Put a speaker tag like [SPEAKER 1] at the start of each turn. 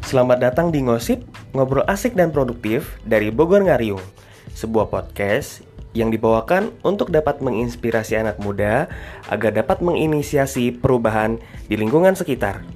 [SPEAKER 1] Selamat datang di Ngosip, ngobrol asik dan produktif dari Bogor Ngariung. Sebuah podcast yang dibawakan untuk dapat menginspirasi anak muda agar dapat menginisiasi perubahan di lingkungan sekitar.